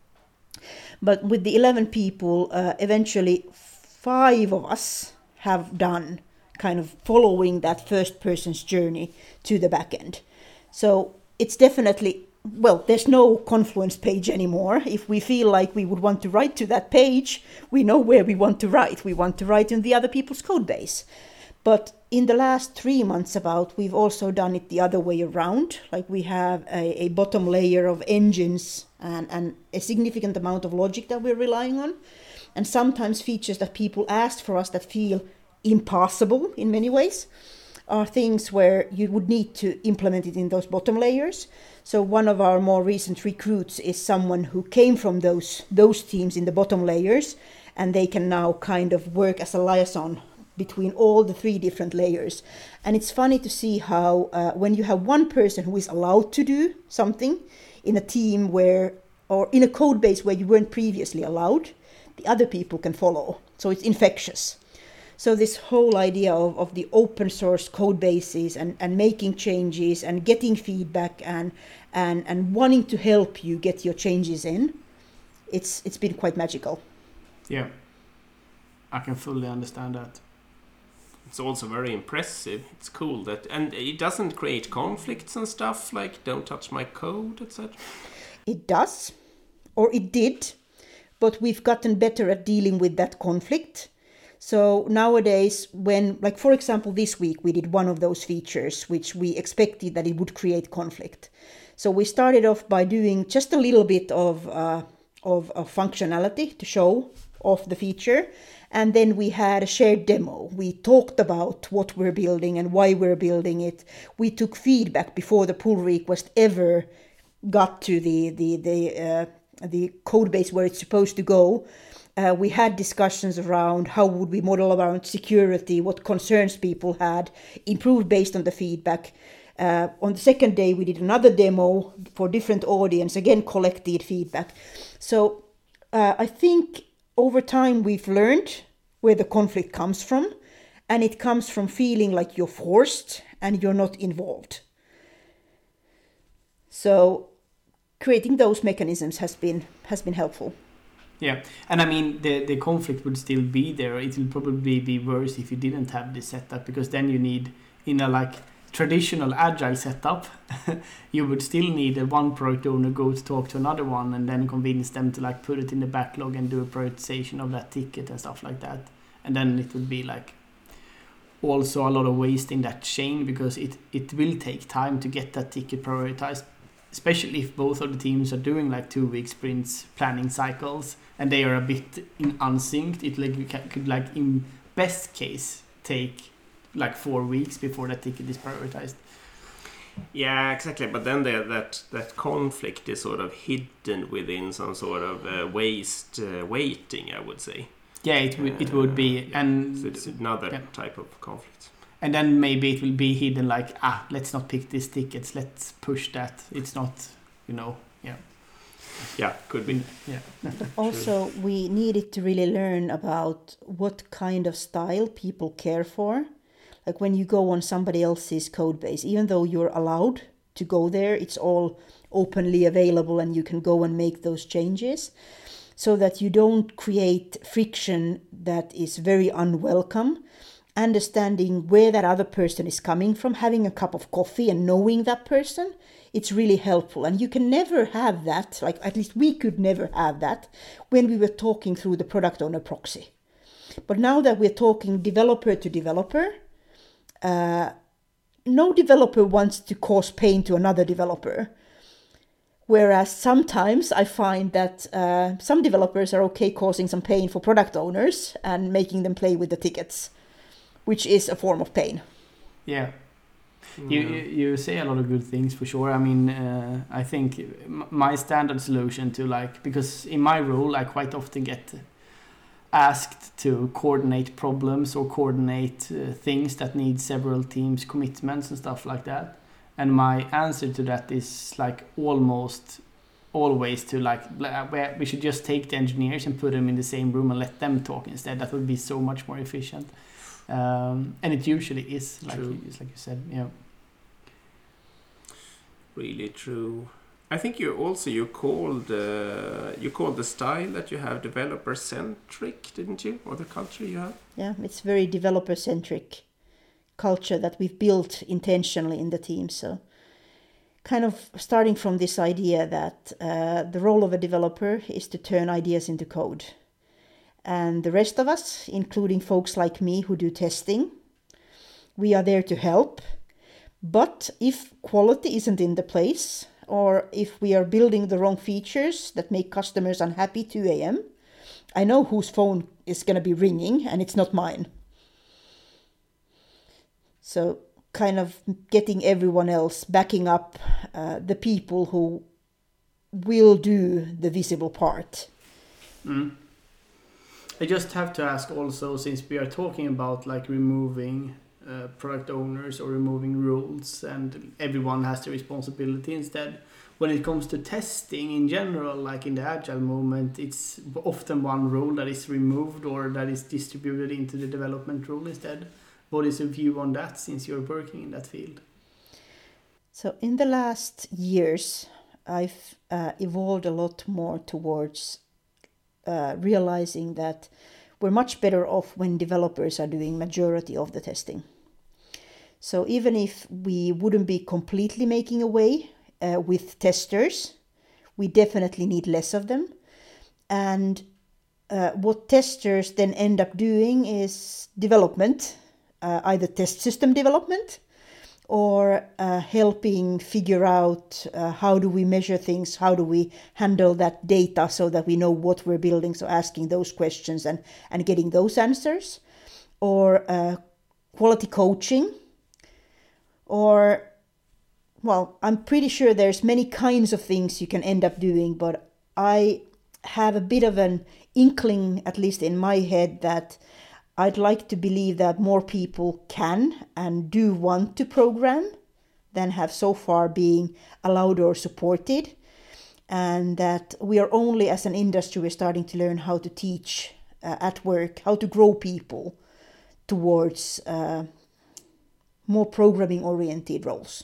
But with the eleven people, uh, eventually five of us have done kind of following that first person's journey to the back end. So it's definitely, well, there's no Confluence page anymore. If we feel like we would want to write to that page, we know where we want to write. We want to write in the other people's code base. But in the last three months about, we've also done it the other way around. Like, we have a, a bottom layer of engines and, and a significant amount of logic that we're relying on. And sometimes features that people asked for us that feel impossible in many ways are things where you would need to implement it in those bottom layers. So one of our more recent recruits is someone who came from those, those teams in the bottom layers, and they can now kind of work as a liaison between all the three different layers. And it's funny to see how uh, when you have one person who is allowed to do something in a team where, or in a code base where you weren't previously allowed, the other people can follow. So it's infectious. So this whole idea of, of the open source code bases and, and making changes and getting feedback and, and, and wanting to help you get your changes in, it's it's been quite magical. Yeah, I can fully understand that. It's also very impressive. It's cool that, and it doesn't create conflicts and stuff like don't touch my code, et cetera. It does, or it did, but we've gotten better at dealing with that conflict. So nowadays, when, like for example, this week we did one of those features which we expected that it would create conflict. So we started off by doing just a little bit of uh, of, of functionality to show off the feature. And then we had a shared demo. We talked about what we're building and why we're building it. We took feedback before the pull request ever got to the the the uh, the code base where it's supposed to go. Uh, we had discussions around how would we model around security, what concerns people had, improved based on the feedback. Uh, on the second day, we did another demo for different audience, again collected feedback. So uh, I think over time we've learned where the conflict comes from, and it comes from feeling like you're forced and you're not involved. So creating those mechanisms has been has been helpful. Yeah, and I mean the the conflict would still be there. It will probably be worse if you didn't have this setup, because then you need, in a like traditional agile setup, you would still need a one product owner go to talk to another one and then convince them to like put it in the backlog and do a prioritization of that ticket and stuff like that. And then it would be like also a lot of waste in that chain, because it it will take time to get that ticket prioritized, especially if both of the teams are doing like two week sprints planning cycles and they are a bit in unsynced. It like could like in best case take like four weeks before that ticket is prioritized. Yeah, exactly. But then there, that that conflict is sort of hidden within some sort of uh, waste uh, waiting, I would say. Yeah, it would it would be, and so it's another yeah. type of conflict. And then maybe it will be hidden like, ah, let's not pick these tickets, let's push that. It's not, you know, yeah. Yeah, could be. Yeah. Also, we needed to really learn about what kind of style people care for. Like when you go on somebody else's code base, even though you're allowed to go there, it's all openly available and you can go and make those changes, so that you don't create friction that is very unwelcome. Understanding where that other person is coming from, having a cup of coffee and knowing that person, it's really helpful. And you can never have that, like at least we could never have that when we were talking through the product owner proxy. But now that we're talking developer to developer, uh, no developer wants to cause pain to another developer. Whereas sometimes I find that uh, some developers are okay causing some pain for product owners and making them play with the tickets, which is a form of pain. Yeah. Mm. You, you you say a lot of good things for sure. I mean, uh, I think my standard solution to like, because in my role I quite often get asked to coordinate problems or coordinate uh, things that need several teams' commitments and stuff like that. And my answer to that is like almost always to like, where we should just take the engineers and put them in the same room and let them talk instead. That would be so much more efficient. Um, and it usually is, like you, like you said, yeah. Really true. I think you also you called uh, you called the style that you have developer centric, didn't you? Or the culture you have? Yeah, it's very developer centric culture that we've built intentionally in the team. So kind of starting from this idea that uh, the role of a developer is to turn ideas into code. And the rest of us, including folks like me who do testing, we are there to help. But if quality isn't in the place, or if we are building the wrong features that make customers unhappy two a.m., I know whose phone is going to be ringing and it's not mine. So kind of getting everyone else backing up uh, the people who will do the visible part. Mm. I just have to ask also, since we are talking about like removing uh, product owners or removing roles and everyone has the responsibility instead, when it comes to testing in general, like in the agile movement, it's often one role that is removed or that is distributed into the development role instead. What is your view on that, since you're working in that field? So in the last years, I've uh, evolved a lot more towards uh, realizing that we're much better off when developers are doing majority of the testing. So even if we wouldn't be completely making away uh, with testers, we definitely need less of them. And uh, what testers then end up doing is development, uh, either test system development, or uh, helping figure out uh, how do we measure things, how do we handle that data so that we know what we're building, so asking those questions and, and getting those answers, or uh, quality coaching, or, well, I'm pretty sure there's many kinds of things you can end up doing, but I have a bit of an inkling, at least in my head, that I'd like to believe that more people can and do want to program than have so far been allowed or supported. And that we are only, as an industry, we're starting to learn how to teach uh, at work, how to grow people towards uh, more programming oriented roles.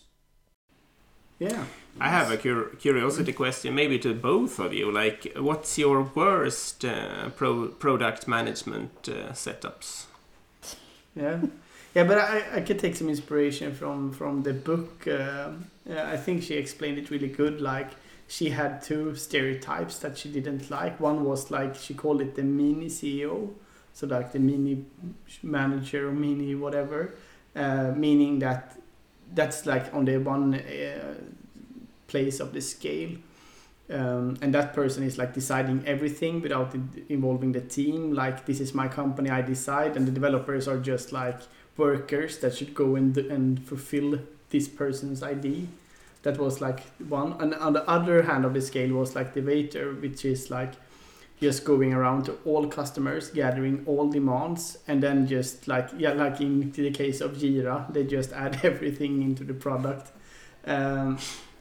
Yeah. I have a cur- curiosity question, maybe to both of you. Like, what's your worst uh, pro- product management uh, setups? Yeah, yeah, but I, I could take some inspiration from from the book. Uh, yeah, I think she explained it really good. Like, she had two stereotypes that she didn't like. One was like, she called it the mini C E O, so like the mini manager or mini whatever, uh, meaning that that's like on the one uh, place of the scale, um, and that person is like deciding everything without involving the team. Like, this is my company, I decide, and the developers are just like workers that should go and and fulfill this person's I D. That was like one. And on the other hand of the scale was like the waiter, which is like just going around to all customers, gathering all demands, and then just like, yeah, like in the case of Jira, they just add everything into the product. Um,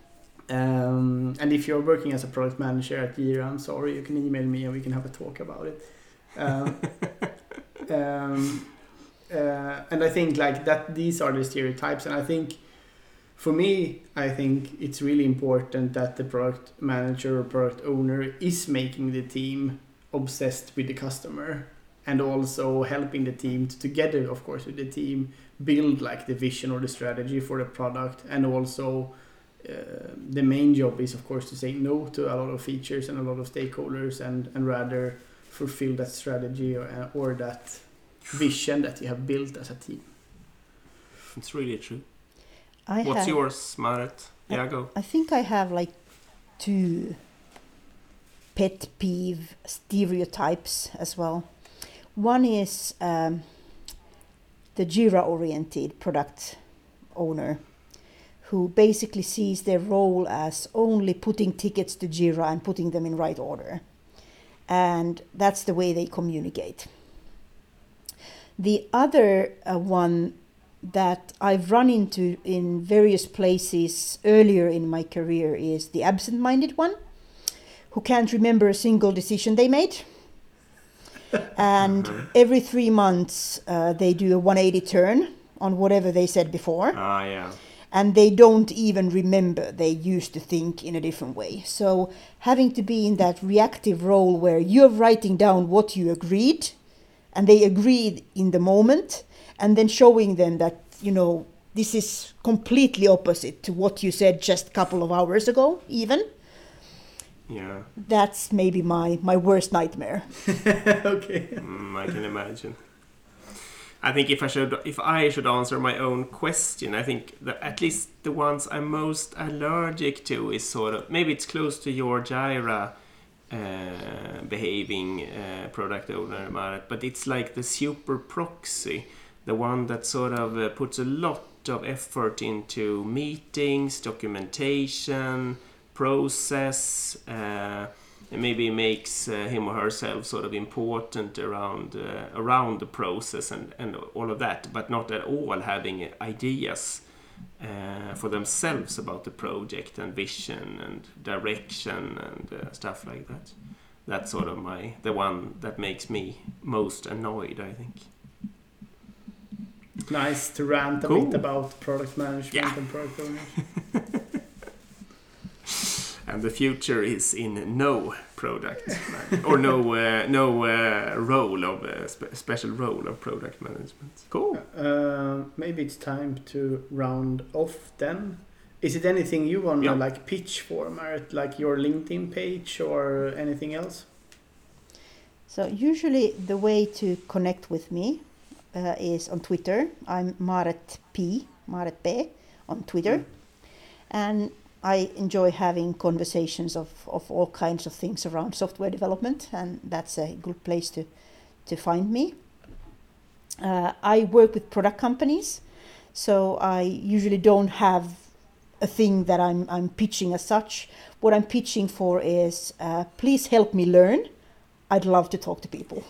um, and if you're working as a product manager at Jira, I'm sorry, you can email me and we can have a talk about it. Um, um, uh, and I think like that, these are the stereotypes, and I think for me, I think it's really important that the product manager or product owner is making the team obsessed with the customer, and also helping the team to, together, of course, with the team, build like the vision or the strategy for the product. And also uh, the main job is, of course, to say no to a lot of features and a lot of stakeholders, and, and rather fulfill that strategy or, or that vision that you have built as a team. It's really true. I What's have, yours, Marit? Yeah, go. I think I have like two pet peeve stereotypes as well. One is um, the Jira-oriented product owner, who basically sees their role as only putting tickets to Jira and putting them in right order. And that's the way they communicate. The other uh, one that I've run into in various places earlier in my career is the absent-minded one, who can't remember a single decision they made. And every three months uh, they do a one eighty turn on whatever they said before. Ah, yeah. And they don't even remember they used to think in a different way. So having to be in that reactive role where you're writing down what you agreed, and they agreed in the moment, and then showing them that, you know, this is completely opposite to what you said just a couple of hours ago, even. Yeah. That's maybe my, my worst nightmare. Okay. Mm, I can imagine. I think if I should if I should answer my own question, I think that at least the ones I'm most allergic to is sort of, maybe it's close to your Jira uh, behaving uh, product owner, Marit, but it's like the super proxy, the one that sort of uh, puts a lot of effort into meetings, documentation, process, uh, maybe makes uh, him or herself sort of important around uh, around the process and, and all of that, but not at all having ideas uh, for themselves about the project and vision and direction and uh, stuff like that. That's sort of my the one that makes me most annoyed, I think. Nice to rant a Cool. bit about product management Yeah. and product ownership. And the future is in no product man- or no uh, no uh, role of uh, spe- special role of product management. Cool. Uh, maybe it's time to round off then. Is it anything you want to Yeah. like pitch for, Marit? Like your LinkedIn page or anything else? So usually the way to connect with me uh, is on Twitter. I'm Marit P, Marit P on Twitter. Mm. And I enjoy having conversations of, of all kinds of things around software development, and that's a good place to, to find me. Uh, I work with product companies, so I usually don't have a thing that I'm, I'm pitching as such. What I'm pitching for is, uh, please help me learn. I'd love to talk to people.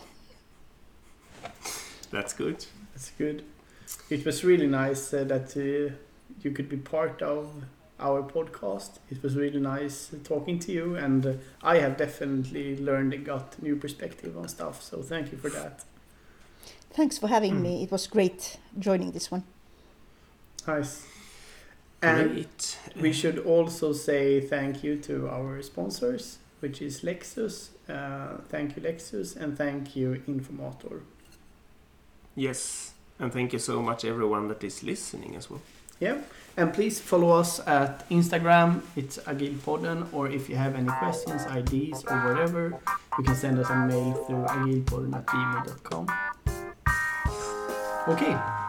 That's good. That's good. It was really nice uh, that uh, you could be part of our podcast. It was really nice talking to you, and uh, I have definitely learned and got new perspective on stuff. So thank you for that. Thanks for having Mm. me. It was great joining this one. Nice. And Great. we should also say thank you to our sponsors, which is Lexus. Uh, thank you, Lexus, and thank you, Informator. Yes, and thank you so much everyone that is listening as well. Yeah, and please follow us at Instagram. It's Agilpodden, or if you have any questions, ideas, or whatever, you can send us a mail through agilpodden at gmail dot com. Okay,